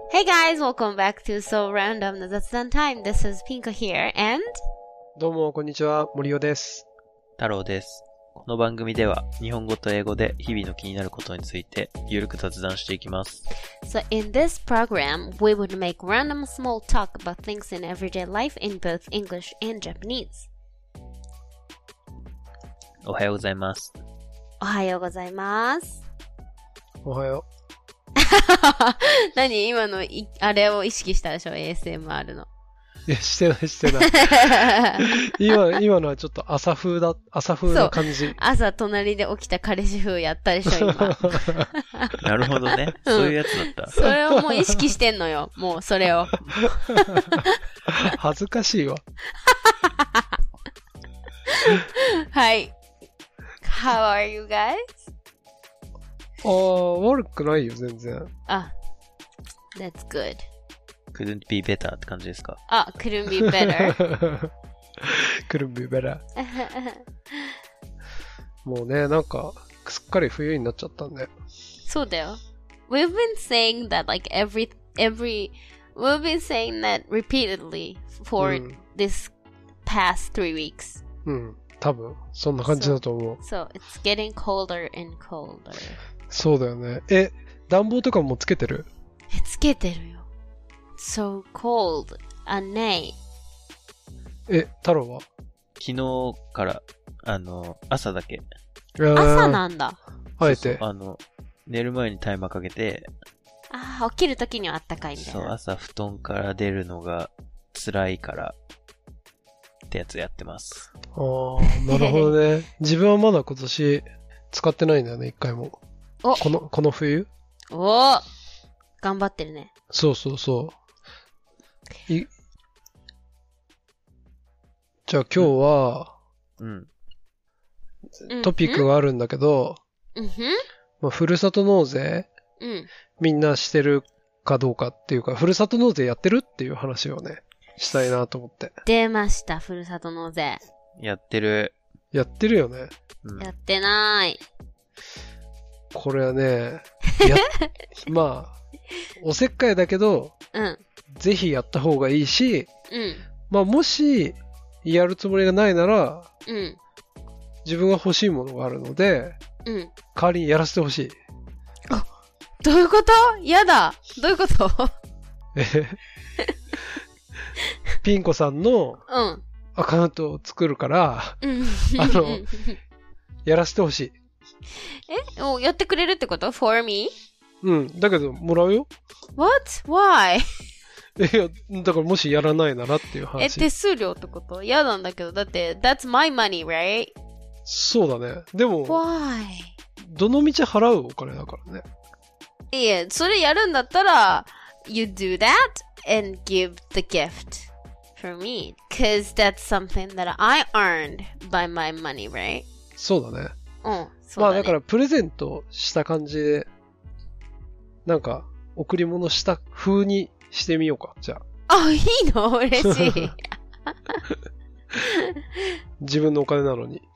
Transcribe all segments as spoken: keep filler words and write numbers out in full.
Hey guys, welcome back to So Random の雑談タイム。This is Pinko here and どうもこんにちは、森尾です。 太郎です。この番組では日本語と英語で日々の気になることについてゆるく雑談していきます。 So in this program, we would make random small talk about things in everyday life in both English and Japanese. おはようございます。 おはようございます。 おはよう。 何今のいあれを意識したでしょ エーエスエムアール の。 いや、してないしてない今今のはちょっと朝風だ朝風な感じ。 朝隣で起きた彼氏風やったでしょ今。 なるほどね、うん、そういうやつだった。 それをもう意識してんのよ、もうそれを。 恥ずかしいわ。 はい。How are you guys? ああ、悪くないよ、全然。 あ、that's good. Couldn't be better って感じですか？ あ、couldn't be better. couldn't be better. もうね、なんか、すっかり冬になっちゃったんで。 そうだよ。We've been saying that like every, every, we've been saying that repeatedly for、うん、this past three weeks. うん、多分、そんな感じだと思う。 So, so it's getting colder and colder. そうだよね。え、暖房とかもつけてる？ え、つけてるよ。So cold at night. え、太郎は？ 昨日から、あの、朝だけ。 朝なんだ。 あえて。 そうそう、あの、寝る前にタイマーかけて。 ああ、起きるときにはあったかいみたいな。 そう、朝布団から出るのが辛いから、ってやつやってます。 ああ、なるほどね。自分はまだ今年使ってないんだよね、一回も。 おこの、この冬？ おー頑張ってるね。 そうそうそう。いじゃあ今日は、うん、トピックがあるんだけど、 うんまあ、ふるさと納税、うん、みんなしてるかどうかっていうか、ふるさと納税やってるっていう話をね、したいなと思って。 出ました、ふるさと納税。 やってる。 やってるよね。 うん、やってない。 これはね、やまあ、おせっかいだけど、うん、ぜひやった方がいいし、うん、まあもしやるつもりがないなら、うん、自分が欲しいものがあるので、うん、代わりにやらせてほしい。 あ、どういうこと？やだ。どういうこと？ ピンコさんのアカウントを作るから、うん、あのやらせてほしい。 え？お、やってくれるってこと？ for me？ うん。だけど、もらうよ。 What? Why? いや、だからもしやらないならっていう話。 え、手数料ってこと？嫌なんだけど、だって、that's my money, right? そうだね。でも、 Why? どの道払うお金だからね。 いや、それやるんだったら、you do that and give the gift for me. Cause that's something that I earned by my money, right? そうだね。 うん。 まあだからプレゼントした感じで、なんか贈り物した風にしてみようか、じゃあ。あ、いいの？嬉しい。 自分のお金なのに。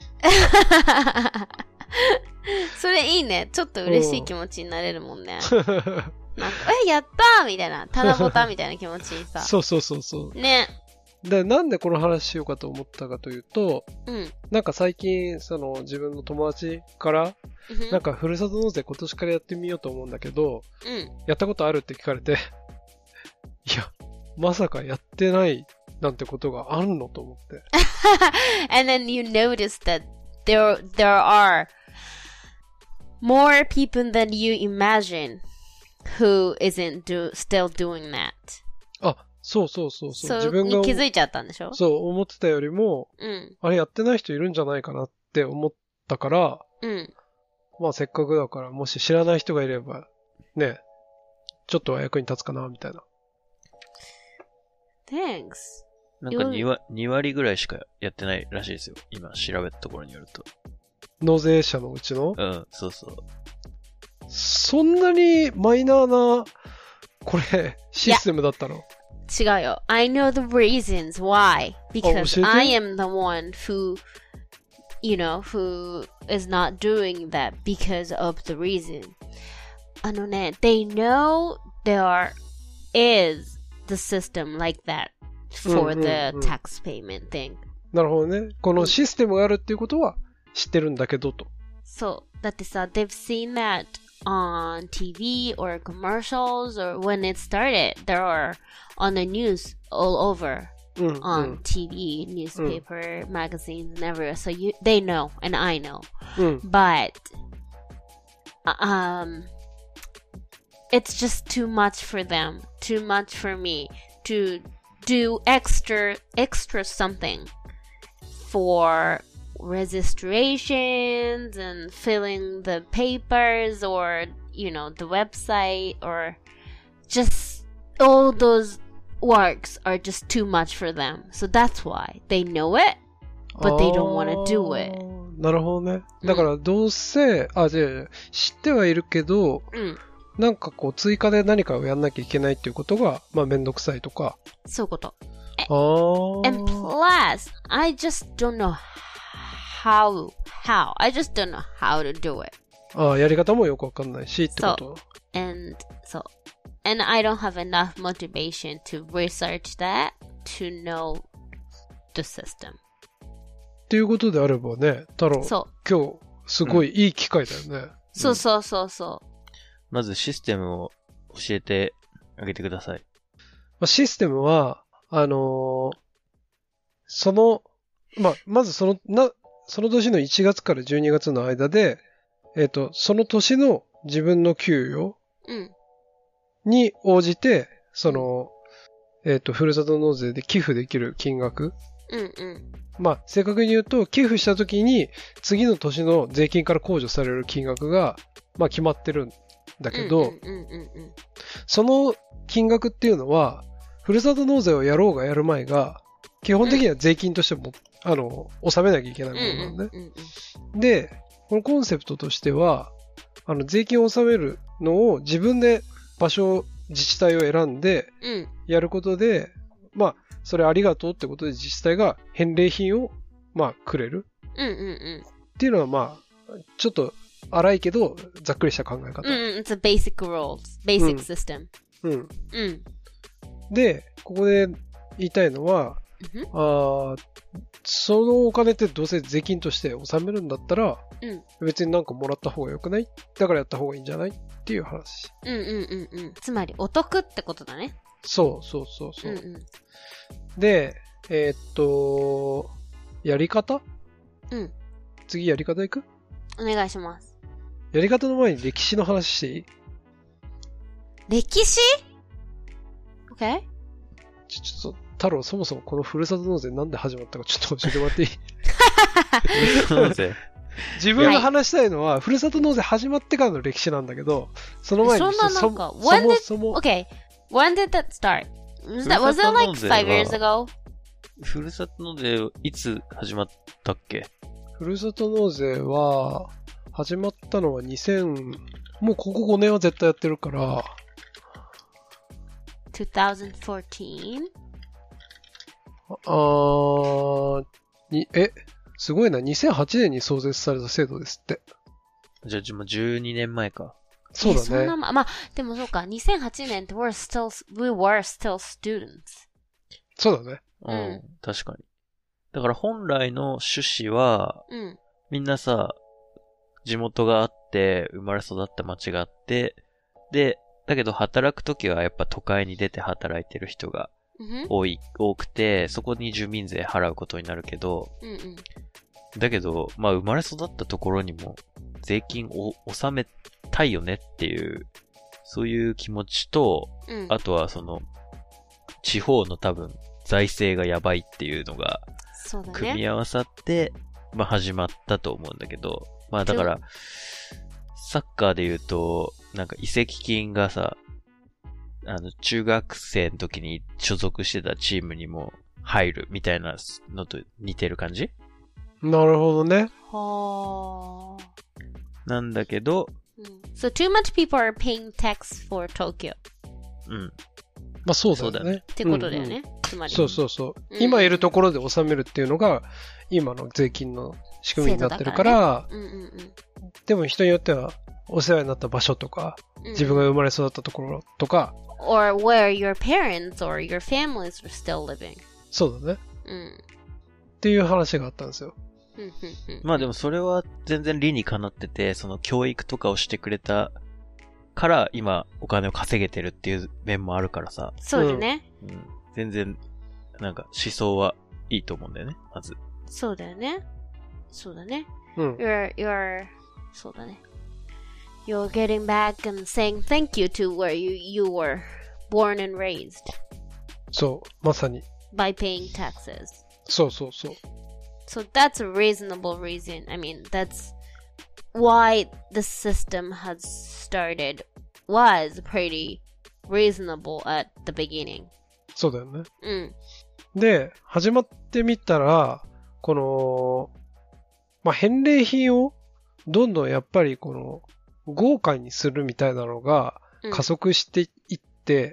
それいいね。ちょっと嬉しい気持ちになれるもんね。なんか、え、やったーみたいな。ただぼたみたいな気持ちにさ。 そうそうそうそう。 ね。 で、なんでこの話しようかと思ったかというと、うん、なんか最近、その自分の友達から、うん、なんかふるさと納税今年からやってみようと思うんだけど、うん、やったことあるって聞かれて、いや、まさかやってないなんてことがあるのと思って。 And then you notice that there, there are more people than you imagine who isn't do, still doing that. あ、そうそうそうそう。 そう自分が気づいちゃったんでしょ？ そう思ってたよりも、うん、あれやってない人いるんじゃないかなって思ったから、うん、まあせっかくだからもし知らない人がいればね、ちょっとは役に立つかなみたいな。 Thanks。 なんか 2, 割に割ぐらいしかやってないらしいですよ。今調べたところによると。 納税者のうちの？ うん、そうそう。 そんなにマイナーなこれシステムだったの？ 違うよ。I know the reasons why. Because I am the one who, you know, who is not doing that because of the reason. あのね、they know there are is the system like that for the tax payment thing. なるほどね。このシステムがあるっていうことは知ってるんだけどと。 そう。だってさ、they've seen that on T V or commercials or when it started, there are on the news all over. Mm, on mm. T V, newspaper, mm. magazines, and everywhere. So you, they know, and I know. Mm. But, um, it's just too much for them, too much for me to do extra, extra something for registrations and filling the papers or, you know, the website or just all those works are just too much for them. So that's why they know it, but they don't want to do it. なるほどね。だからどうせ、あ、じゃあ知ってはいるけど、うん、なんかこう追加で何かをやんなきゃいけないっていうことが、まあめんどくさいとか。 そういうこと。 ああ。 And plus, I just don't know how, how. I just don't know how to do it. ああ、やり方もよくわかんないしってこと。 そう。And, そう。And I don't have enough motivation to research that to know the system. っていうことであればね、太郎、今日すごいいい機会だよね。うん、 そうそうそうそう。 まずシステムを教えてあげてください。 まあ、システムは、あのー、その、まあ、まずその、な、その年のいちがつからじゅうにがつの間で、えっと、その年の自分の給与、 うんに応じて、その、えっと、ふるさと納税で寄付できる金額。 うんうん。 まあ、正確に言うと、寄付した時に、次の年の税金から控除される金額が、まあ、決まってるんだけど、その金額っていうのは、ふるさと納税をやろうがやる前が、基本的には税金としても、うん、あの、納めなきゃいけないものなのね。で、このコンセプトとしては、あの、税金を納めるのを自分で場所、自治体を選んで、やることで、うん、まあ、それありがとうってことで自治体が返礼品を、まあ、くれる。 うんうんうん。 っていうのは、まあ、ちょっと荒いけど、ざっくりした考え方。 うん、it's a basic rules, basic system。 うん。 うん。 で、ここで言いたいのは、 うん、 あそのお金ってどうせ税金として納めるんだったら、 うん、 別になんかもらった方がよくない？だからやった方がいいんじゃないっていう話。 うんうんうんうん。つまりお得ってことだね。 そうそうそうそう。 うんうん、 で、えー、っと、やり方？ うん。 次やり方いく？ お願いします。 やり方の前に歴史の話していい？ 歴史？ OK？ ちょ、ちょっと、太郎、そもそもこのふるさと納税なんで始まったかちょっと教えてもらっていい？ふるさと納税自分が話したいのは、はい、ふるさと納税始まってからの歴史なんだけど、その前にそんななんか、そ, そもそも Okay, when did that start? Was that, was that like five years ago? ふるさと納税いつ始まったっけ？ ふるさと納税は、始まったのはにせん、もうここごねんは絶対やってるから、 twenty fourteen? あー、に、え、すごいな、にせんはちねんに創設された制度ですって。 じゃあ、もうじゅうにねんまえか。 そうだね。そんなま、まあ、でもそうか、にせんはちねんって we're still, we were still students. そうだね。 うん、うん、確かに。だから本来の趣旨は、 うん、 みんなさ、地元があって、生まれ育った町があって、で、だけど働くときはやっぱ都会に出て働いてる人が多い、多くて、そこに住民税払うことになるけど、 うんうん、 だけど、まあ生まれ育ったところにも税金を納めたいよねっていう、そういう気持ちと、 うん、 あとはその、地方の多分財政がやばいっていうのが、組み合わさって、まあ始まったと思うんだけど、まあだから、サッカーで言うと、なんか移籍金がさ、あの、中学生の時に所属してたチームにも入るみたいなのと似てる感じ？ なるほどね。 はー。なんだけど、 So too much people are paying tax for Tokyo. うん。 まあそうだね。 ってことだよね。 うんうん、 つまり。 そうそうそう。うん、今いるところで納めるっていうのが、今の税金の仕組みになってるから、 ねうんうんうん、 でも人によっては、お世話になった場所とか、 自分が生まれ育ったところとか。 or where your parents or your families are still living. そうだね。 うん。 っていう話があったんですよ。 まあでもそれは全然理にかなってて、その教育とかをしてくれたから今お金を稼げてるっていう面もあるからさ。 そうだね。 うん。全然、なんか思想はいいと思うんだよね、まず。 そうだよね。そうだね。 うん。 You're, you're, そうだね。You're getting back and saying thank you to where you, you were born and raised. そう、まさに。 By paying taxes. そうそうそう。 So that's a reasonable reason. I mean, that's why the system has started was pretty reasonable at the beginning. そうだよね。 うん。 で、始まってみたら、この、まあ、返礼品をどんどんやっぱりこの豪華にするみたいなのが加速していって、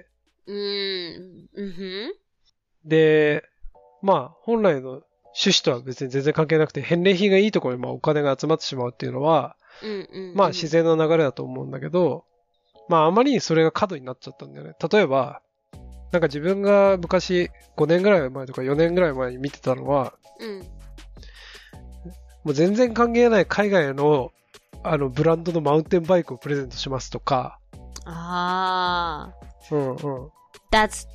うん。うん。 で、まあ、本来の趣旨とは別に全然関係なくて、返礼品がいいところにまあお金が集まってしまうっていうのは、 うんうんうん、 まあ自然な流れだと思うんだけど、まああまりにそれが過度になっちゃったんだよね。例えば、なんか自分が昔ごねんぐらい前とかよねんぐらい前に見てたのは、 うん、 もう全然関係ない海外のあのブランドのマウンテンバイクをプレゼントしますとか。 ああ。うんうん。 That's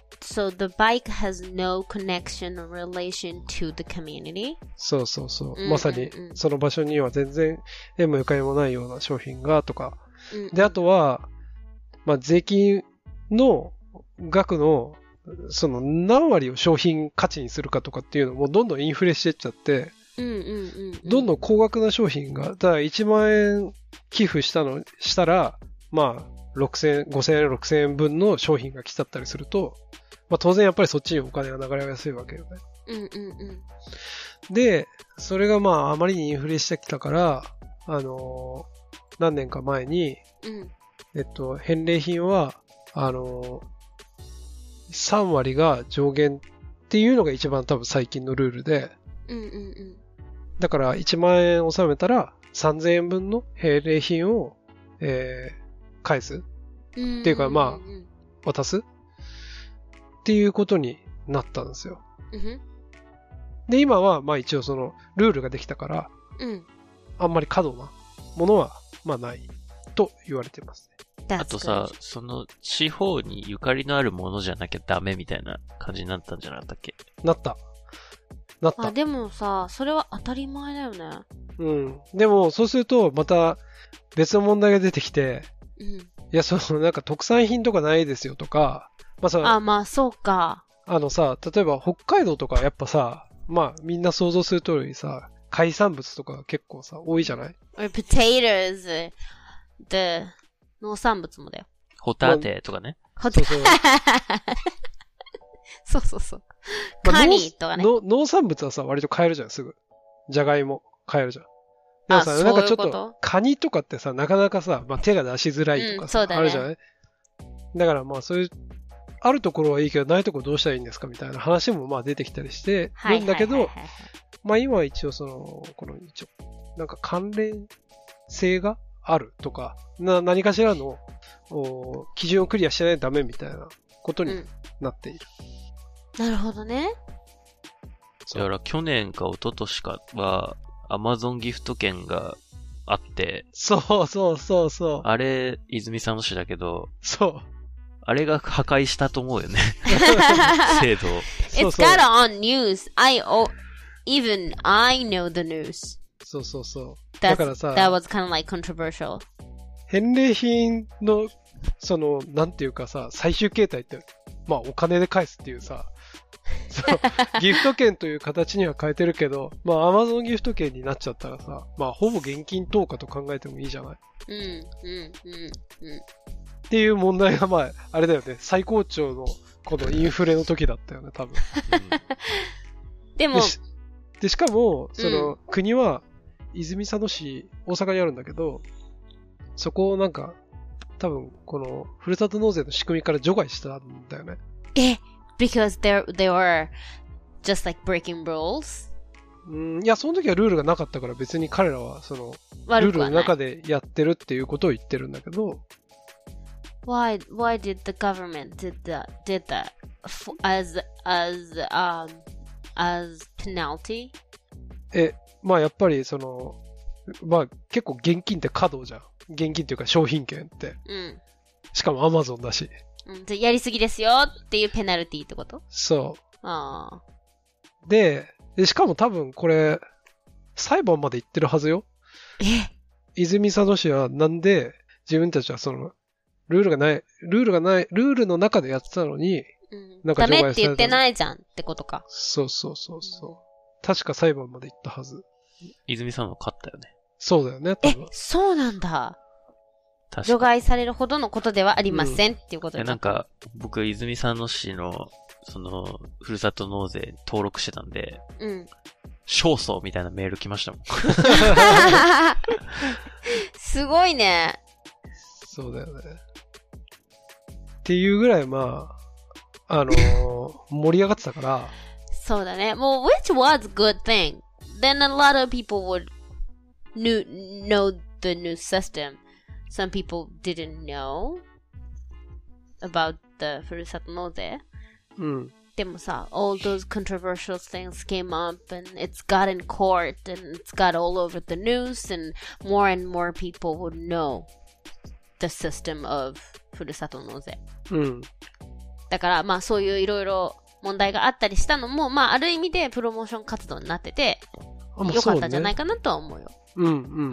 So the bike has no connection or relation to the community? そうそうそう。 うんうんうん、 まさにその場所には全然縁もゆかりもないような商品がとか。 うんうん、 で、あとは、まあ、税金の額のその何割を商品価値にするかとかっていうのもどんどんインフレしていっちゃって、 うんうんうんうん、 どんどん高額な商品が、だからいちまんえん寄付したの、したら、まあ、ろくせんえん、ごせんえん、ろくせんえん分の商品が来ちゃったりすると、まあ当然やっぱりそっちにお金が流れやすいわけよね。 うんうんうん。 で、それがまああまりにインフレしてきたから、あのー、何年か前に、 うん、 えっと、返礼品は、あのー、さんわりが上限っていうのが一番多分最近のルールで、 うんうんうん、 だからいちまんえん納めたらさんぜんえんぶんの返礼品を、えー、返すっていうかまあ、渡すっていうことになったんですよ。 うん、 で、今はまあ一応そのルールができたから、 うん、 あんまり過度なものはまあないと言われてますね。あとさ、その地方にゆかりのあるものじゃなきゃダメみたいな感じになったんじゃなかったっけ？ なった。なった。 あ、でもさ、それは当たり前だよね。 うん。でもそうするとまた別の問題が出てきて、 うん、 いや、そのなんか特産品とかないですよとか、まあさ、 あ、まあそうか。 あのさ、例えば北海道とかやっぱさ、まあみんな想像する通りさ、海産物とか結構さ、多いじゃない？ Or potatoes, the 農産物もだよ。 ホタテとかね。 ホタテ。そうそうそう。カニとかね。 農産物はさ、割と買えるじゃん、すぐ。じゃがいも買えるじゃん。でもさ、なんかちょっと、カニとかってさ、なかなかさ、まあ、手が出しづらいとかさ、うんね、あるじゃない？だからまあそういう、あるところはいいけど、ないところどうしたらいいんですかみたいな話もまあ出てきたりしてるんだけど、まあ今は一応その、この一応、なんか関連性があるとか、な何かしらの基準をクリアしてないとダメみたいなことになっている。 うん、なるほどね。 だから去年か一昨年かは、アマゾンギフト券があって。 そうそうそうそう。 あれ、泉佐野市だけど。 そう。 あれが破壊したと思うよね。制度を。 It's got on news. I, oh, even I know the news. そうそうそう。 だからさ。That was kind of like controversial. 返礼品の、その、なんていうかさ、最終形態って、まあお金で返すっていうさ、そうギフト券という形には変えてるけど、まあ Amazon ギフト券になっちゃったらさ、まあほぼ現金投下と考えてもいいじゃない。 うん、うん、うん、うん。 っていう問題がまあ、あれだよね、最高潮のこのインフレの時だったよね、多分。 うん、でもでし、でしかも、その、うん、国は泉佐野市、大阪にあるんだけど、そこをなんか、多分このふるさと納税の仕組みから除外したんだよね。 え？Because they they were just like breaking rules? うん、いや、その時はルールがなかったから別に彼らはそのルールの中でやってるっていうことを言ってるんだけど、 Why, why did the government did that, did that as, as, um, as penalty? え、まあやっぱりその、まあ結構現金って過度じゃん。現金っていうか商品券って。 うん。 しかもアマゾンだし。 うん。やりすぎですよっていうペナルティってこと？ そう。 ああ。 で、で、しかも多分これ、裁判まで行ってるはずよ。 え？ 泉佐野市はなんで自分たちはその、ルールがない、ルールがない、ルールの中でやってたのに、 うん、なんか除外された。ダメって言ってないじゃんってことか。 そうそうそうそう。確か裁判まで行ったはず。 泉さんは勝ったよね。 そうだよね。 え、そうなんだ。除外されるほどのことではありません、うん、っていうことで。 なんか、僕、泉佐野市の、その、ふるさと納税登録してたんで、 うん。 勝訴みたいなメール来ましたもん。 すごいね。 そうだよね。っていうぐらい、まあ、あのー、盛り上がってたから。 そうだね。もう、which was a good thing. Then a lot of people would knew, know the new system. Some people didn't know about the ふるさと納税。 うん。 でもさ、all those controversial things came up and it's got in court and it's got all over the news and more and more people would know the system of ふるさと納税。 うん。 だからまあそういういろいろ問題があったりしたのも、まあある意味でプロモーション活動になってて、良かったんじゃないかなとは思うよ。 うんうんうんうん。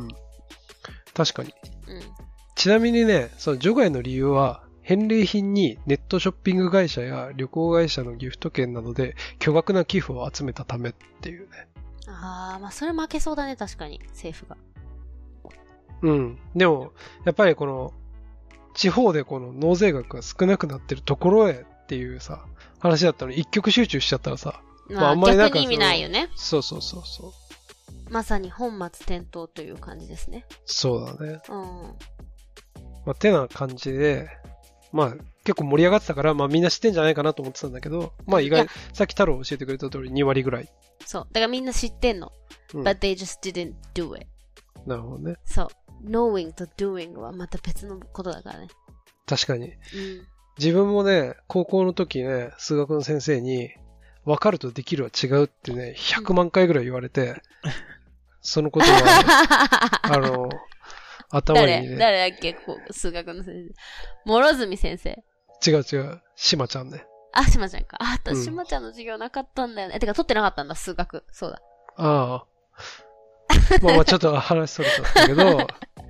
確かに。 うん。 ちなみにね、その除外の理由は、返礼品にネットショッピング会社や旅行会社のギフト券などで巨額な寄付を集めたためっていうね。 ああ、まあそれ負けそうだね、確かに、政府が。 うん。でも、やっぱりこの、地方でこの納税額が少なくなってるところへっていうさ、話だったのに一極集中しちゃったらさ、 まあ、まあ、あんまりなんか逆に意味ないよね。 そうそうそうそう。 まさに本末転倒という感じですね。 そうだね。 うん。 まあ、てな感じで、まあ、結構盛り上がってたから、まあみんな知ってんじゃないかなと思ってたんだけど、まあ意外、さっき太郎教えてくれた通りに割ぐらい。 そう。だからみんな知ってんの。うん、But they just didn't do it. なるほどね。 そう。knowing と doing はまた別のことだからね。 確かに。 うん。 自分もね、高校の時ね、数学の先生に、分かるとできるは違うってね、ひゃくまんかいぐらい言われて、うん、そのことは、あの、頭にね。 誰誰だっけこう数学の先生。諸角先生。 違う違う。しまちゃんね。 あ、しまちゃんか。あ、私しまちゃんの授業なかったんだよね。うん、てか、取ってなかったんだ、数学。そうだ。 ああ。まあまあ、ちょっと話それちゃったけど。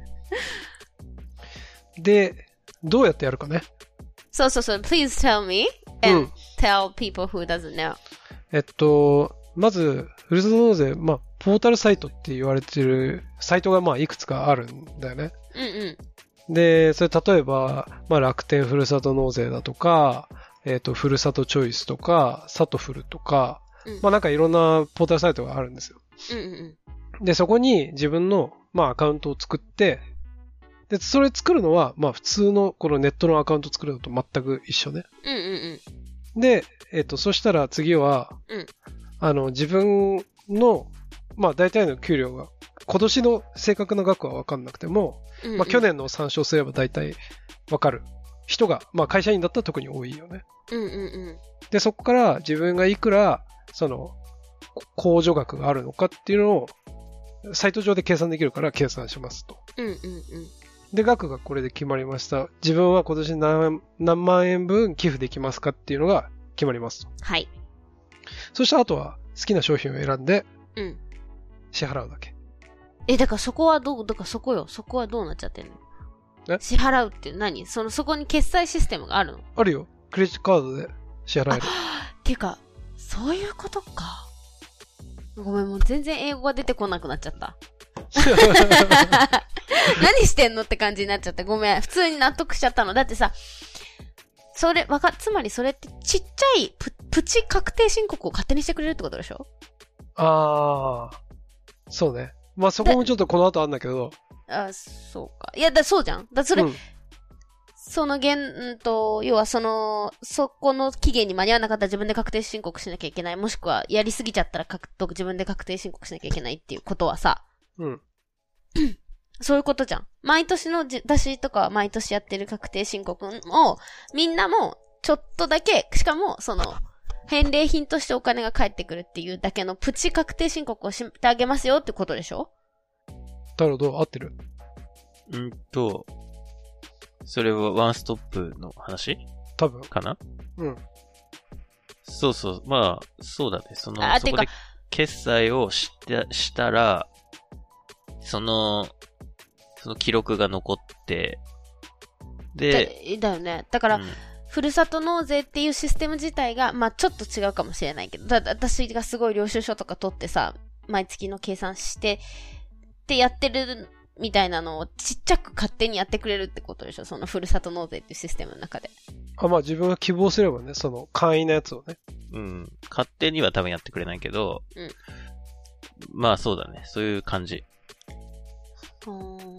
で、どうやってやるかね。 そうそうそう。Please tell me and、うん、tell people who doesn't know. えっと、まず、ふるさと納税、まあ、ポータルサイトって言われてるサイトがまあいくつかあるんだよね。 うんうん。 で、それ例えば、まあ楽天ふるさと納税だとか、えっと、ふるさとチョイスとか、サトフルとか、うん、まあなんかいろんなポータルサイトがあるんですよ。 うんうんうん。 で、そこに自分の、まあアカウントを作って、で、それ作るのは、まあ普通のこのネットのアカウント作るのと全く一緒ね。 うんうんうん。 で、えっと、そしたら次は、 うん、 あの、自分の、まあ大体の給料が、今年の正確な額は分かんなくても、うんうん、まあ去年の参照すれば大体分かる人が、まあ会社員だったら特に多いよね。 うんうんうん。 で、そこから自分がいくら、その、控除額があるのかっていうのを、サイト上で計算できるから計算しますと。 うんうんうん。 で、額がこれで決まりました。自分は今年 何, 何万円分寄付できますかっていうのが決まりますと。 はい。 そしたらあとは好きな商品を選んで、 うん。 支払うだけ。 え、だからそこはどう、だからそこよ。そこはどうなっちゃってんの？ え？ 支払うって何？その、そこに決済システムがあるの？ あるよ。クレジットカードで支払える。 ていうか、そういうことか。ごめん、もう全然英語が出てこなくなっちゃった。何してんのって感じになっちゃって。ごめん。普通に納得しちゃったの。だってさ、それ、わか、つまりそれってちっちゃいプ、プチ確定申告を勝手にしてくれるってことでしょ？ ああ、そうね。まあそこもちょっとこの後あるんだけど。 あ、そうか。いや、だ、そうじゃん。だ、それ、うん、その現、んと、要はその、そこの期限に間に合わなかったら自分で確定申告しなきゃいけない。もしくは、やりすぎちゃったら自分で確定申告しなきゃいけないっていうことはさ。 うん。 そういうことじゃん。毎年の私とか毎年やってる確定申告を、みんなもちょっとだけ、しかもその、返礼品としてお金が返ってくるっていうだけのプチ確定申告をしてあげますよってことでしょ？ なるほど、合ってる？ うんと、それはワンストップの話？ 多分。 かな？ うん。 そうそう。まあ、そうだね。その、そこで決済をした、したら、その、その記録が残って、 で、だ、だよね。だから、うん、ふるさと納税っていうシステム自体が、まあちょっと違うかもしれないけど、だ私がすごい領収書とか取ってさ、毎月の計算して、ってやってるみたいなのをちっちゃく勝手にやってくれるってことでしょ？そのふるさと納税っていうシステムの中で。 あ、まあ自分が希望すればね、その簡易なやつをね。 うん。勝手には多分やってくれないけど、うん。まあそうだね。そういう感じ。 うーん。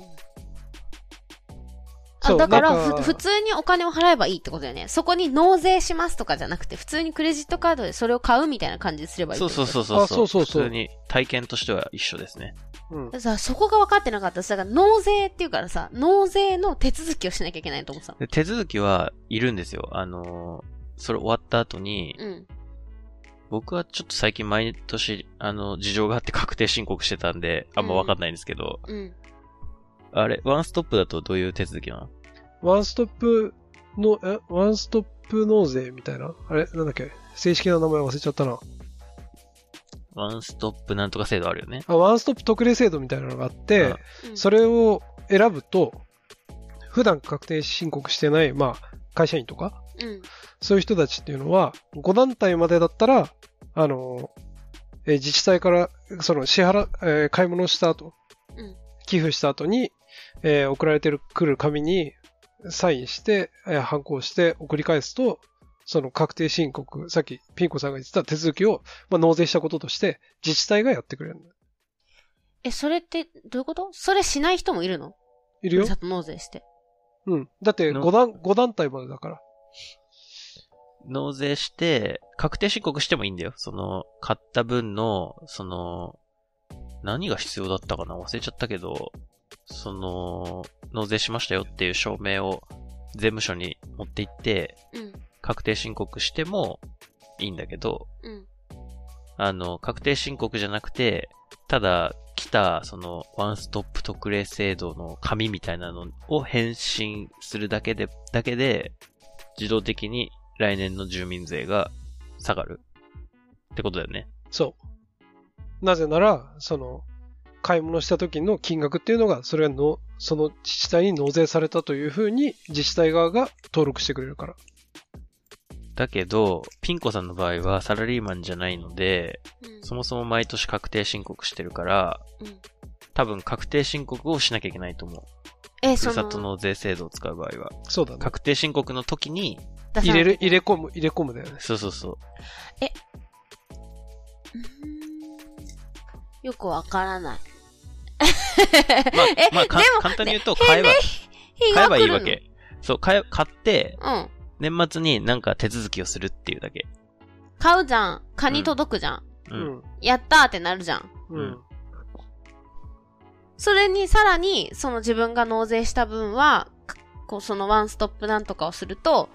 あ、だからふ、普通にお金を払えばいいってことだよね。そこに納税しますとかじゃなくて、普通にクレジットカードでそれを買うみたいな感じにすればいいってこと。 そうそうそうそう。 あ、そうそうそう。 普通に体験としては一緒ですね。 うん。さ、そこが分かってなかった。だから納税っていうからさ、納税の手続きをしなきゃいけないと思ってたの。 手続きはいるんですよ。あのー、それ終わった後に、うん。僕はちょっと最近毎年、あの、事情があって確定申告してたんで、あんま分かんないんですけど、うん。うん、あれ、ワンストップだとどういう手続きなの？ ワンストップの、え、ワンストップ納税みたいな？あれなんだっけ？正式な名前忘れちゃったな。 ワンストップなんとか制度あるよね。 あ、ワンストップ特例制度みたいなのがあって、うん、それを選ぶと、普段確定申告してない、まあ、会社員とか、うん、そういう人たちっていうのは、ご団体までだったら、あの、え自治体から、その支払、えー、買い物した後、うん、寄付した後に、えー、送られてくる紙に、サインして、えー、反抗して送り返すと、その確定申告、さっきピンコさんが言ってた手続きを、まあ、納税したこととして自治体がやってくれるんだよ。 え、それってどういうこと？それしない人もいるの？ いるよ。 ふるさと納税して。 うん。だってご団、ご団体までだから。 納税して、確定申告してもいいんだよ。その、買った分の、その、何が必要だったかな？忘れちゃったけど、その、納税しましたよっていう証明を税務署に持って行って、うん、確定申告してもいいんだけど、うん、あの、確定申告じゃなくて、ただ来た、その、ワンストップ特例制度の紙みたいなのを返信するだけで、だけで、自動的に来年の住民税が下がるってことだよね。 そう。なぜなら、その、買い物した時の金額っていうのが、それがの、その自治体に納税されたというふうに自治体側が登録してくれるから。 だけど、ピンコさんの場合はサラリーマンじゃないので、うん、そもそも毎年確定申告してるから、うん、多分確定申告をしなきゃいけないと思う。え、ふるさと納税制度を使う場合は。 そうだね。 確定申告の時に、 入れる、入れ込む、入れ込むだよね。 そうそうそう。 え、よくわからない。 まあ、まあ、か簡単に言うと、買えば、買えばいいわけ。そう、買え、買って、うん、年末になんか手続きをするっていうだけ。 買うじゃん。蚊に届くじゃん。うん。やったーってなるじゃん。うん。それにさらに、その自分が納税した分は、こう、そのワンストップなんとかをすると、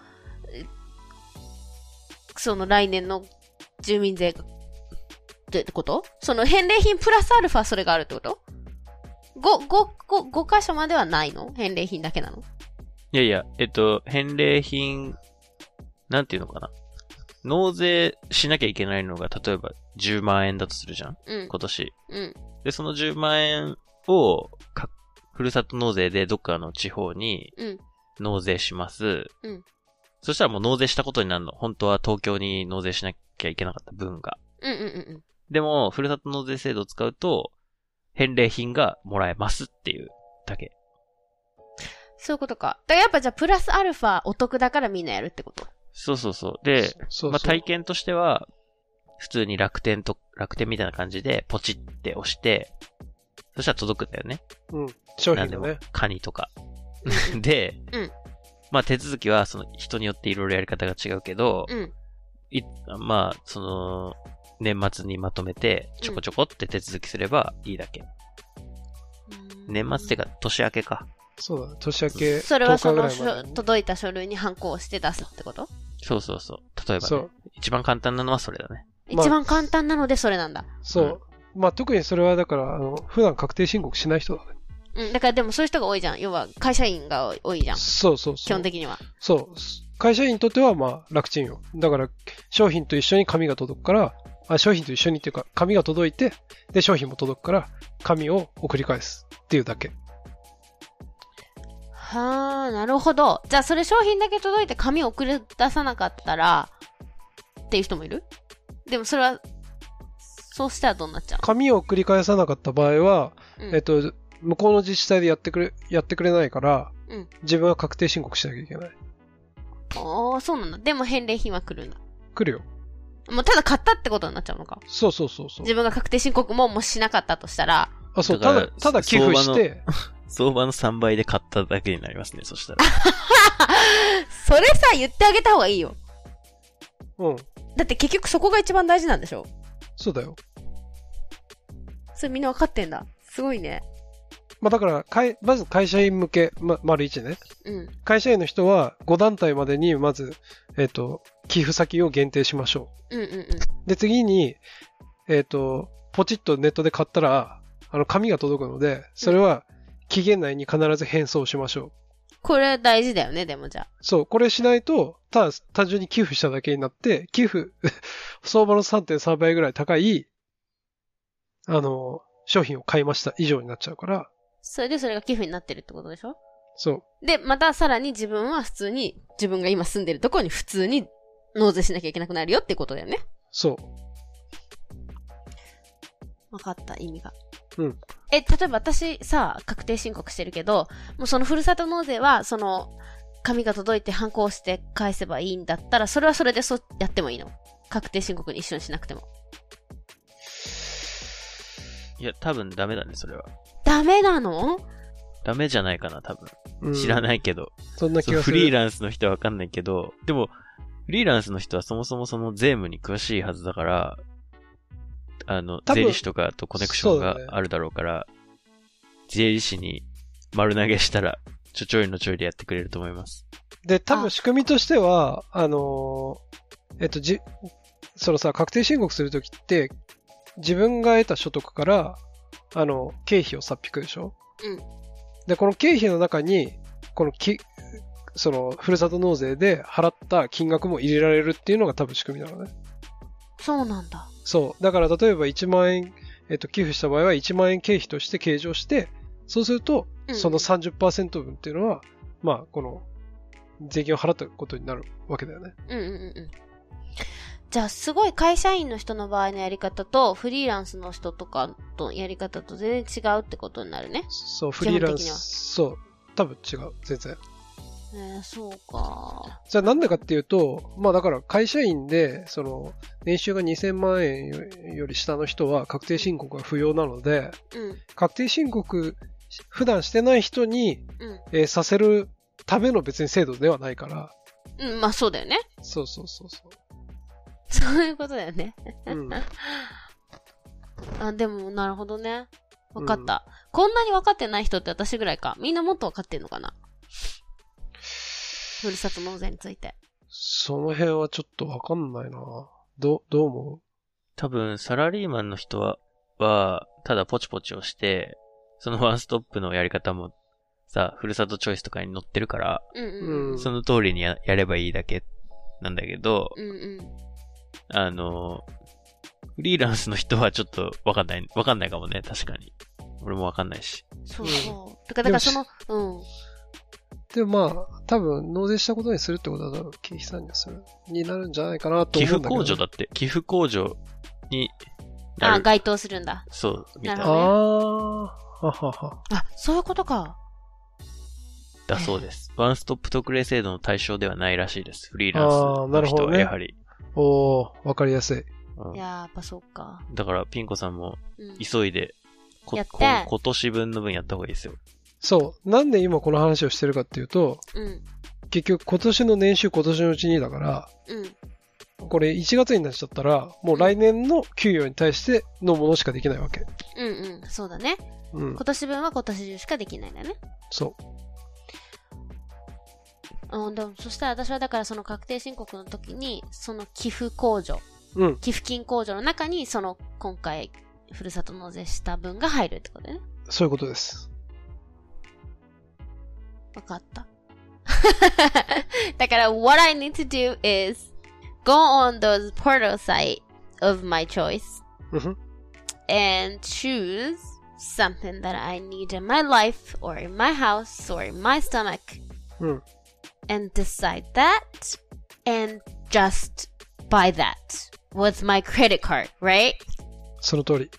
その来年の住民税が、ってことその返礼品プラスアルファそれがあるってこと ?ご、ご、ご、ご箇所まではないの？返礼品だけなの？ いやいや、えっと、返礼品、なんていうのかな。納税しなきゃいけないのが、例えばじゅうまんえんだとするじゃん、うん、今年。うん。で、そのじゅうまんえんを、か、ふるさと納税でどっかの地方に、納税します。うん。そしたらもう納税したことになるの。本当は東京に納税しなきゃいけなかった分が。うんうんうんうん。でも、ふるさと納税制度を使うと、返礼品がもらえますっていうだけ。 そういうことか。だからやっぱじゃあプラスアルファお得だからみんなやるってこと？ そうそうそう。で、そうそうまあ体験としては、普通に楽天と、楽天みたいな感じでポチって押して、そしたら届くんだよね。 うん。商品がね。 なんでもカニとか。で、うん。まあ手続きはその人によっていろいろやり方が違うけど、うん。いまあ、その、年末にまとめてちょこちょこって手続きすればいいだけ。 年末ってか、年明けか。 そうだ、年明け。 それはその、届いた書類にハンコをして出すってこと？ そうそうそう。例えばね。一番簡単なのはそれだね。 一番簡単なのでそれなんだ。 そう。うん、まあ特にそれはだから、あの、普段確定申告しない人だね。 うん、だからでもそういう人が多いじゃん。要は会社員が多いじゃん。 そうそうそう。 基本的には。 そう。会社員にとってはまあ楽ちんよ。だから商品と一緒に紙が届くから、あ、商品と一緒にっていうか紙が届いて、で商品も届くから紙を送り返すっていうだけ。 はあ、なるほど。じゃあそれ商品だけ届いて紙を送り出さなかったらっていう人もいる？でもそれはそうしたらどうなっちゃう？ 紙を送り返さなかった場合は、うん、えっと向こうの自治体でやってくれやってくれないから、うん、自分は確定申告しなきゃいけない。 ああ、そうなんだ。でも返礼品は来るんだ。 来るよ。 もうただ買ったってことになっちゃうのか。 そうそうそうそう。 自分が確定申告ももしなかったとしたら。 あ、そう、ただ、ただ寄付して。 相場のさんばいで買っただけになりますね、そしたら。 それさ、言ってあげた方がいいよ。 うん。 だって結局そこが一番大事なんでしょ？ そうだよ。 それみんな分かってんだ。すごいね。 まあだから、かい、まず会社員向け、ま、丸一ね。 うん。 会社員の人はご団体までに、まず、えっと、寄付先を限定しましょう。うんうんうん。 で、次に、えっと、ポチッとネットで買ったら、あの、紙が届くので、それは期限内に必ず返送しましょう。 これ大事だよね、でもじゃあ。 そう、これしないと、ただ単純に寄付しただけになって、寄付、相場の さんてんさんばいぐらい高い、あの、商品を買いました以上になっちゃうから。 それでそれが寄付になってるってことでしょ？ そう。 で、またさらに自分は普通に、自分が今住んでるところに普通に納税しなきゃいけなくなるよってことだよね。 そう。 わかった、意味が。 うん。 え、例えば私さ、確定申告してるけど、もうそのふるさと納税は、その、紙が届いてハンコをして返せばいいんだったら、それはそれでそうやってもいいの？確定申告に一緒にしなくても。 いや、多分ダメだね、それは。 ダメなの？ ダメじゃないかな、多分。うん、知らないけど。 そんな気がする。フリーランスの人はわかんないけど、でも、フリーランスの人はそもそもその税務に詳しいはずだから、あの、税理士とかとコネクションがあるだろうから、ね、税理士に丸投げしたら、ちょちょいのちょいでやってくれると思います。 で、多分仕組みとしては、あのー、えっと、じ、そのさ、確定申告するときって、自分が得た所得から、あの、経費を差っ引くでしょ？ うん。 で、この経費の中に、このき、その、ふるさと納税で払った金額も入れられるっていうのが多分仕組みなのね。 そうなんだ。 そう。だから例えばいちまんえん、えっと、寄付した場合はいちまんえん経費として計上して、そうすると、その さんじゅっパーセント 分っていうのは、うん、まあ、この、税金を払ったことになるわけだよね。 うんうんうん。じゃあ、すごい会社員の人の場合のやり方と、フリーランスの人とかのやり方と全然違うってことになるね。 そう、フリーランス、そう、多分違う、全然。 えー、そうか。 じゃあなんでかっていうと、まあだから会社員で、その、年収がにせんまんえんより下の人は確定申告が不要なので、 うん、確定申告、普段してない人に、うんえー、させるための別に制度ではないから。 うん、まあそうだよね。 そうそうそうそう。 そういうことだよね。 うん、 あ、でも、なるほどね。わかった、うん。こんなにわかってない人って私ぐらいか。みんなもっとわかってんのかな？ふるさと納税について。 その辺はちょっとわかんないな。ど、どう思う？ 多分、サラリーマンの人は、は、ただポチポチをして、そのワンストップのやり方も、さ、ふるさとチョイスとかに載ってるから、 うんうんうん、 その通りに や, やればいいだけなんだけど、 うんうん、 あの、フリーランスの人はちょっとわかんない、わかんないかもね、確かに。俺もわかんないし。 そうそう。だから、だからその、うん。 でもまあ、多分、納税したことにするってことは多分、経費参入する、になるんじゃないかなと思うんだけど。 寄付控除だって、寄付控除になる。 あ、該当するんだ。 そう、みたいな。 ああ、ははは。 あ、そういうことか。 だそうです。ワンストップ特例制度の対象ではないらしいです。フリーランスの人はやはり。 ね、おー、わかりやすい。 うん、いやー、やっぱそうか。 だから、ピンコさんも、急いで、うん、 やって今年分の分やった方がいいですよ。 そう。なんで今この話をしてるかっていうと、 うん、 結局今年の年収今年のうちにだから、 うん、 これいちがつになっちゃったら、もう来年の給与に対してのものしかできないわけ。 うんうん、そうだね。うん、今年分は今年中しかできないんだね。 そう。 うん、でもそしたら私はだからその確定申告の時に、その寄付控除、 うん、 寄付金控除の中に、その今回、ふるさと納税した分が入るってことだよね。 そういうことです。 わかった。だから、what I need to do is go on those portal site of my choice and choose something that I need in my life or in my house or in my stomach and decide that and just buy that with my credit card, right? その通り。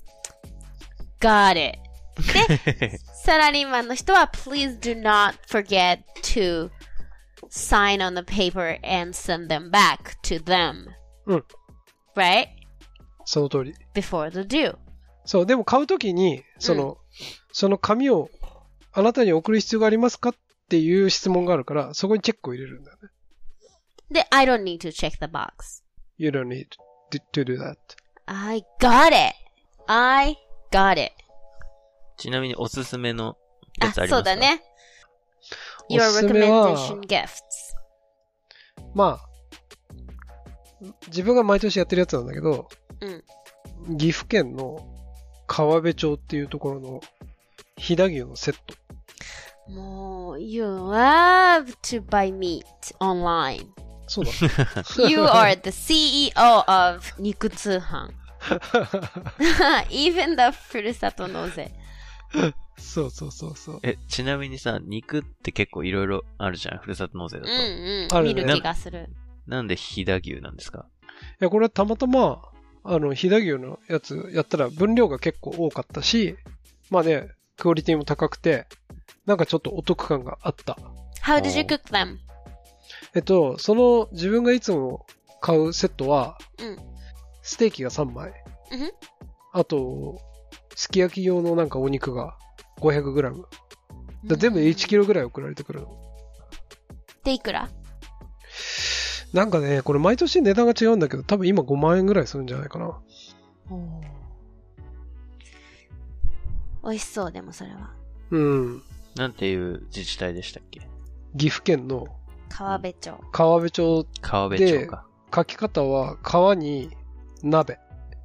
Got it. で、サラリーマンの人は please do not forget to sign on the paper and send them back to them. うん。 Right? その通り。 Before the due. そう、でも買うときに、その、うん、その紙をあなたに送る必要がありますかっていう質問があるから、そこにチェックを入れるんだよね。 で、I don't need to check the box. You don't need to do that. I got it. I got it. ちなみにおすすめのやつありますか？ あ、そうだね。Your recommendation gifts. まあ、自分が毎年やってるやつなんだけど、 うん、 岐阜県の川辺町っていうところの飛騨牛のセット。 もう、You love to buy meat online. そうだ。 You are the シーイーオー of 肉通販。Even the ふるさと納税。 そうそうそうそう。 え、ちなみにさ、肉って結構いろいろあるじゃん、ふるさと納税だと。 うんうん。あるね。見る気がする。 な, なんで飛騨牛なんですか？ いや、これはたまたま、あの、飛騨牛のやつやったら分量が結構多かったし、まあね、クオリティも高くて、なんかちょっとお得感があった。 How did you cook them? えっと、その自分がいつも買うセットは、 うん、 ステーキがさんまい。 うん、 あと、すき焼き用のなんかお肉が ごひゃくグラム。だ全部でいちキロぐらい送られてくるの。 で、いくら？ なんかね、これ毎年値段が違うんだけど、多分今ごまんえんぐらいするんじゃないかな。 お美味しそう、でもそれは。 うん。 なんていう自治体でしたっけ？ 岐阜県の川辺町。 川辺町で、 川辺町か。 書き方は川に鍋。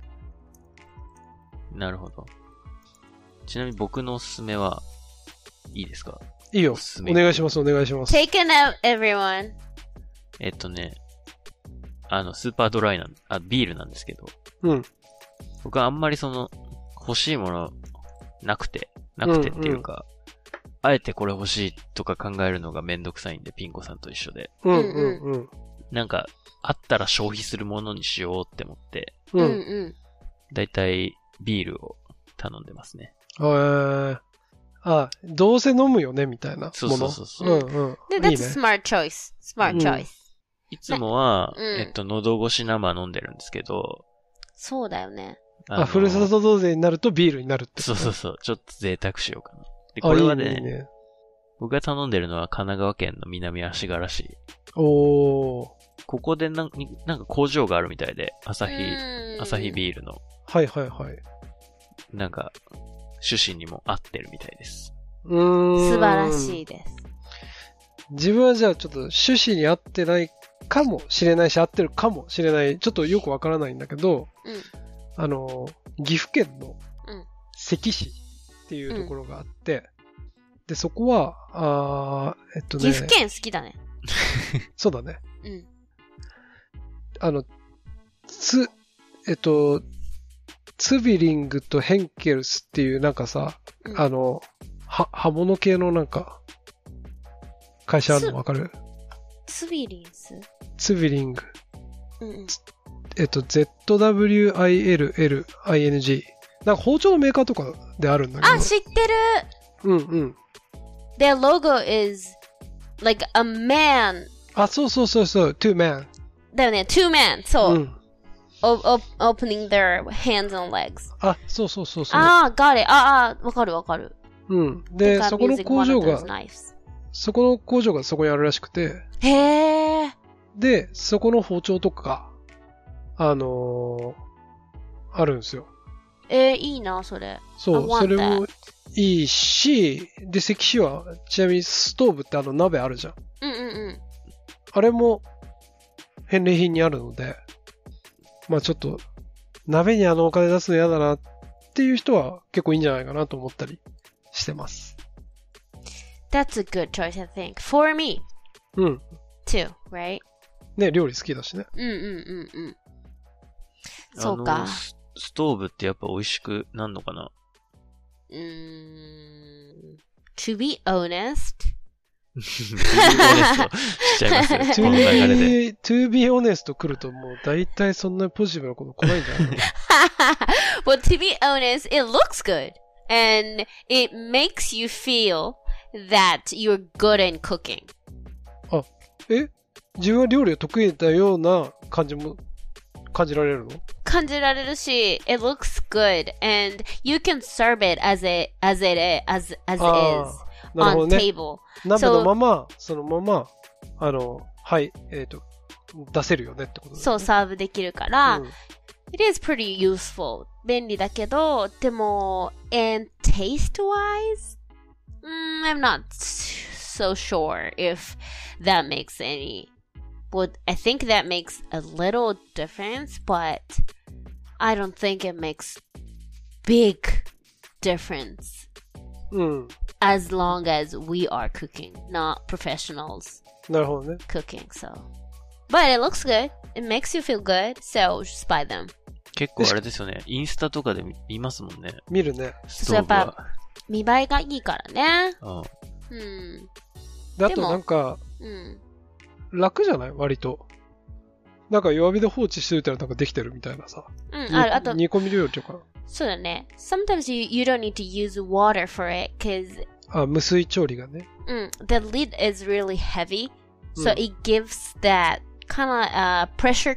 なるほど。ちなみに僕のおすすめはいいですか？ いいよ。お, お願いします、お願いします。 Take it out, everyone. えっとね、あの、スーパードライなん、あ、ビールなんですけど。 うん。 僕はあんまりその、欲しいものなくて、なくてっていうか、うんうん、あえてこれ欲しいとか考えるのがめんどくさいんで、ピンコさんと一緒で。 うんうんうん。 なんか、あったら消費するものにしようって思って、 うんうん。 だいたいビールを頼んでますね。 へー。あ、どうせ飲むよねみたいなもの。 そうそうそうそう。 うんうん。 で、that's a smart choice. Smart choice.、うん、 いつもは、 うん、 えっと、喉越し生飲んでるんですけど。 そうだよね。 あ、ふるさと納税になるとビールになるって。 そうそうそう。ちょっと贅沢しようかな。で、これはね、いいね、僕が頼んでるのは神奈川県の南足柄市。 おー。 ここでなんなんか工場があるみたいで、アサヒ、アサヒビールの。 はいはいはい。 なんか、趣旨にも合ってるみたいです。 うーん。 素晴らしいです。 自分はじゃあちょっと趣旨に合ってないかもしれないし、合ってるかもしれない。ちょっとよくわからないんだけど、 うん、 あの、岐阜県の関市っていうところがあって、うん、で、そこは、あえっとね。 岐阜県好きだね。 そうだね。 うん。 あの、つ、えっと、ツビリングとヘンケルスっていうなんかさ、うん、あの、は、刃物系のなんか、会社あるのわかる？ ツビリンス？ ツビリング。 うんうん、 えっと、ゼットダブリューアイエルエルアイエヌジー。なんか包丁のメーカーとかであるんだけど。 あ、知ってる！ うんうん。 Their logo is like a man. あ、そうそうそうそう、two man. だよね、two man. そう。うん、 o- o- opening their hands and legs. あ、そうそうそうそう。 ああ、got it. ああ、わかるわかる。 うん。で、そこの工場が、そこの工場がそこにあるらしくて。 へえ。 で、そこの包丁とか、あのー、あるんですよ。 えー、いいな、それ。 そう、それもいいし、で、石紙は、ちなみにストーブってあの鍋あるじゃん。 うんうんうん。 あれも、返礼品にあるので、まあちょっと、鍋にあのお金出すの嫌だなっていう人は結構いいんじゃないかなと思ったりしてます。 That's a good choice, I think. For me. うん。 too, right? ね、料理好きだしね。 うんうんうんうん。そうか。 ストーブってやっぱ美味しくなんのかな？ うーん。To be honest. to be honest しちゃいますよ。この流れで。 to be honest 来るともう大体そんなポジティブなこと来ないんじゃないの ？Well, to be honest, it looks good. And it makes you feel that you're good in cooking. あ、え？自分は料理が得意だような感じも感じられるの？ 感じられるし、it looks good and you can serve it as it as it is as as it is on table. 鍋のまま、そのままあのはいえっと出せるよねってことだよね。 そうサーブできるから、うん、it is pretty useful 便利だけど、でも and taste wise、mm, I'm not so sure if that makes any.Well, I think that makes a little difference, but I don't think it makes big difference. うん。 As long as we are cooking, not professionals. なるほどね。 Cooking, so. But it looks good. It makes you feel good, so just buy them. 結構あれですよね。インスタとかで見ますもんね。 見るね。 そう、やっぱ見栄えがいいからね。 うん。 うん。 だとなんか、 うん。 楽じゃない割と。なんか弱火で放置しておいたらなんかできてるみたいなさ。 うん、あ、あと。 煮込み料理とか。 そうだね。Sometimes you, you don't need to use water for it, cause... あ、無水調理がね。 うん。The lid is really heavy, so、うん、it gives that kind of、uh, pressure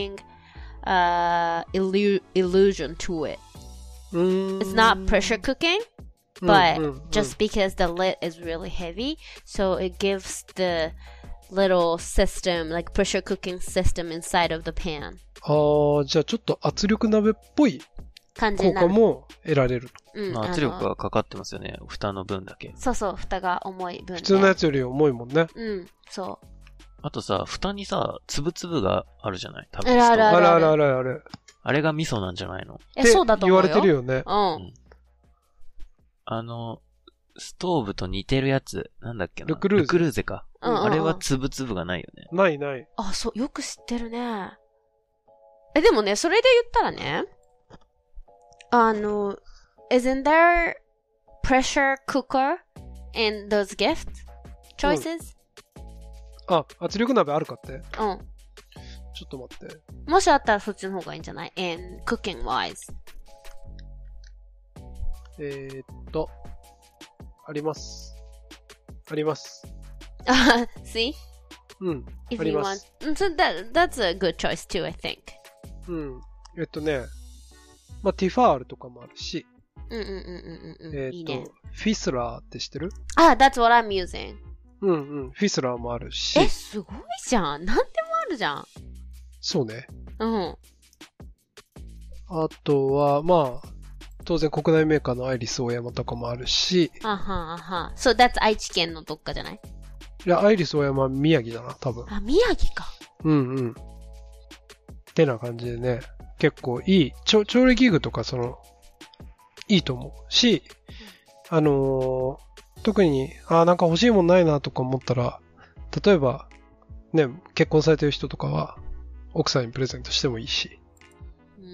cooking、uh, illu- illusion to it. うーん。 It's not pressure cooking,、but、うんうんうん、just because the lid is really heavy, so it gives the...little system, like pressure cooking system inside of the pan. ああ、じゃあちょっと圧力鍋っぽい効果も得られると。 うん、 圧力がかかってますよね。蓋の分だけ。 そうそう、蓋が重い分、ね。 普通のやつより重いもんね。 うん、そう。 あとさ、蓋にさ、つぶつぶがあるじゃない？多分あるあるあるあるあるある。 あれが味噌なんじゃないの？ え、そうだと思うよ。 言われてるよね。 うん。うん、 あの、ストーブと似てるやつ、なんだっけな。 ルクルーゼ。 ルクルーゼか。 うんうんうん、 あれはつぶつぶがないよね。 ないない。 あ、そう、よく知ってるね。え、でもね、それで言ったらね、あの、isn't there pressure cooker in those gift choices?、 うん、あ、圧力鍋あるかって？ うん。 ちょっと待って。 もしあったらそっちの方がいいんじゃない？ in cooking wise。 えーっと、あります。あります。 あ、see? うん。 If あり you ま want. す。 So that, that's a good choice too, I think. うん。えっとね、まあ、ティファールとかもあるし、 うんうんうんうんうん。 えっと、 いいね、 フィスラーって知ってる？ あ、that's what I'm using. うんうん。フィスラーもあるし。 え、すごいじゃん。なんでもあるじゃん。 そうね。 うん。 あとは、まあ、当然国内メーカーのアイリスオーヤマとかもあるし。 あはあは。そう、that's 愛知県のどっかじゃない？ いや、アイリスオーヤマは宮城だな、多分。 あ、宮城か。 うんうん。ってな感じでね、結構いい、調理器具とかその、いいと思うし、うん、あのー、特に、あ、なんか欲しいもんないなとか思ったら、例えば、ね、結婚されてる人とかは、奥さんにプレゼントしてもいいし。 うん。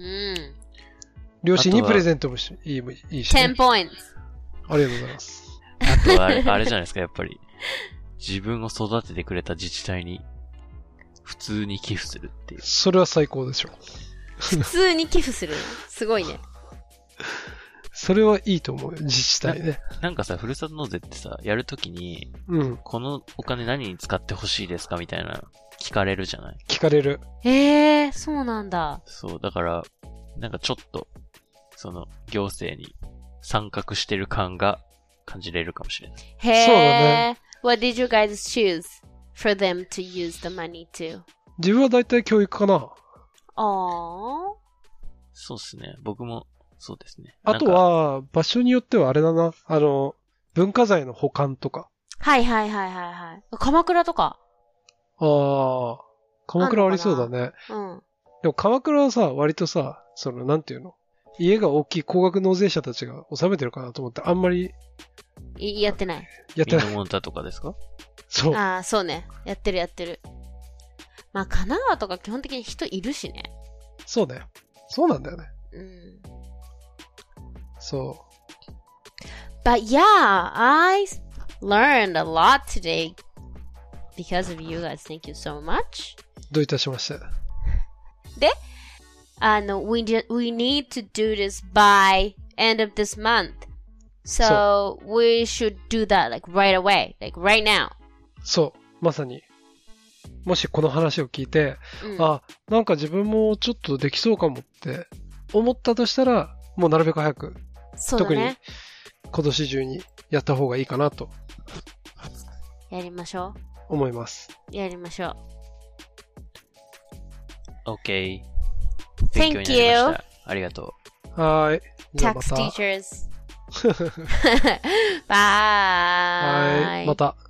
両親にプレゼントもしいい、いいし、ね。 じゅう points。 ありがとうございます。 あとはあれ、あれじゃないですか、やっぱり。自分を育ててくれた自治体に、普通に寄付するっていう。 それは最高でしょ。 普通に寄付するのすごいね。 それはいいと思うよ、自治体ね。 な, なんかさ、ふるさと納税ってさ、やるときに、 うん、 このお金何に使ってほしいですかみたいな、聞かれるじゃない？ 聞かれる。 へえー、そうなんだ。 そう、だから、なんかちょっと、その、行政に参画してる感が感じれるかもしれない。 へー。 そうだね。 What did you guys choose for them to use the money to? 自分はだいたい教育かな。 ああ。 そうですね。僕もそうですね。 あとは、場所によってはあれだな。あの、文化財の保管とか。 はいはいはいはいはい。鎌倉とか。 ああ、鎌倉ありそうだね。うん。でも鎌倉はさ、割とさ、その、なんていうの？家が大きい高額納税者たちが納めてるかなと思って、あんまり。 やってない。 やってない。 ミノモンタとかですか？ そう。 ああ、そうね。やってるやってる。まあ、神奈川とか基本的に人いるしね。 そうだよ。そうなんだよね。 うん。 そう。 But yeah, I learned a lot today because of you guys. Thank you so much. どういたしまして。 で、あの、we, we need to do this by end of this month. So, we should do that like right away, like right now. そう、まさに。もしこの話を聞いて、うん、あ、なんか自分もちょっとできそうかもって思ったとしたら、もうなるべく早く、 そうだね、 特に今年中にやった方がいいかなと。 やりましょう。思います。 やりましょう。OK。 Thank you. ありがとう。はい。 Tax teachers. Bye. はい。また。